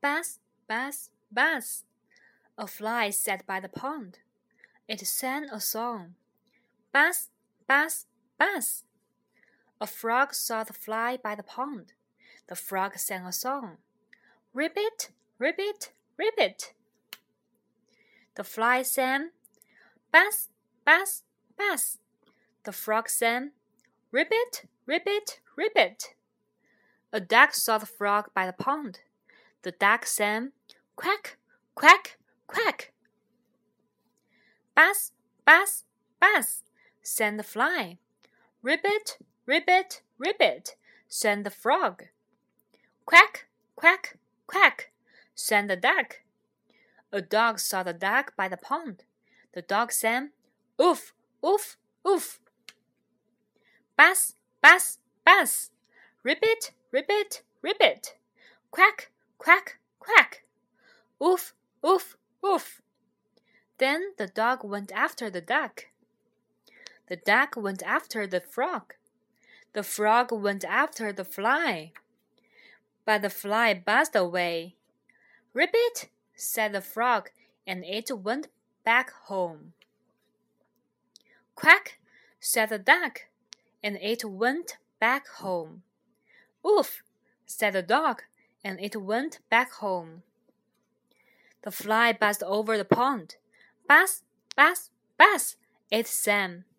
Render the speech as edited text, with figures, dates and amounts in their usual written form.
Buzz, buzz, buzz. A fly sat by the pond. It sang a song. Buzz, buzz, buzz. A frog saw the fly by the pond. The frog sang a song. Ribbit, ribbit, ribbit. The fly sang. Buzz, buzz, buzz. The frog sang. Ribbit, ribbit, ribbit. A duck saw the frog by the pond. The duck sang. Quack, quack, quack. Buzz, buzz, buzz, sang the fly. Ribbit, ribbit, ribbit, sang the frog. Quack, quack, quack, sang the duck. A dog saw the duck by the pond. The dog sang. Oof, oof, oof. Buzz, buzz, buzz. Ribbit, ribbit, ribbit. Quack, quack, quack. Oof, oof, oof. Then the dog went after the duck. The duck went after the frog. The frog went after the fly. But the fly buzzed away. Ribbit, said the frog, and it went back home. Quack, said the duck, and it went back home. Oof, said the dog, and it went back home. The fly buzzed over the pond. Buzz, buzz, buzz, it sang.